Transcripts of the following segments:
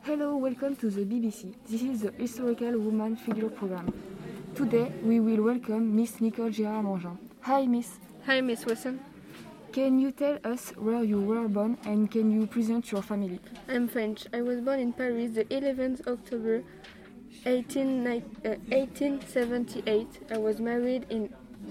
Hello, welcome to the BBC. This is the Historical Woman Figure Program. Today, we will welcome Miss Nicole Gérard-Mangin. Hi, Miss. Hi, Miss Wilson. Can you tell us where you were born and can you present your family? I'm French. I was born in Paris the 11th October 1878. I was married in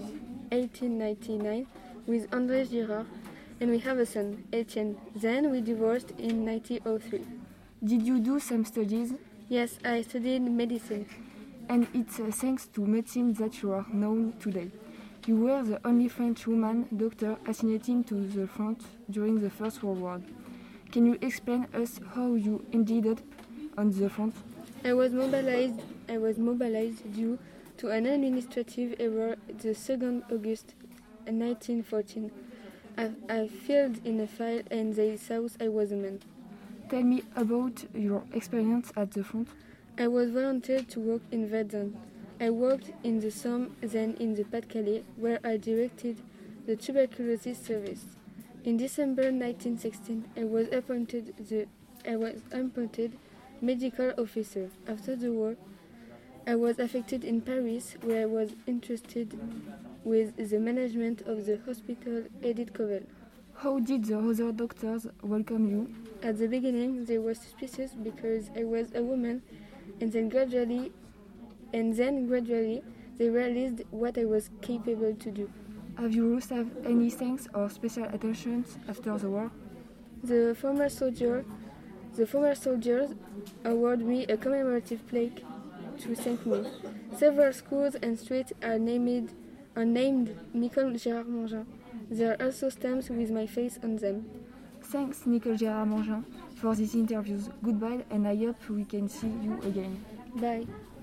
1899 with André Girard and we have a son, Etienne. Then we divorced in 1903. Did you do some studies? Yes, I studied medicine. And it's thanks to medicine that you are known today. You were the only French woman doctor assignating to the front during the First World War. Can you explain us how you ended up on the front? I was mobilized due to an administrative error the 2nd August 1914. I filled in a file and they thought I was a man. Tell me about your experience at the front. I was volunteered to work in Verdun. I worked in the Somme, then in the Pas-de-Calais, where I directed the tuberculosis service. In December 1916, I was appointed medical officer. After the war, I was affected in Paris, where I was entrusted with the management of the hospital Edith Cavell. How did the other doctors welcome you? At the beginning, they were suspicious because I was a woman, and then gradually, they realized what I was capable to do. Have you received any thanks or special attentions after the war? The former soldiers awarded me a commemorative plaque to thank me. Several schools and streets are named Nicole Gérard-Mangin. There are also stamps with my face on them. Thanks, Nicole Gérard-Mangin, for these interviews. Goodbye, and I hope we can see you again. Bye.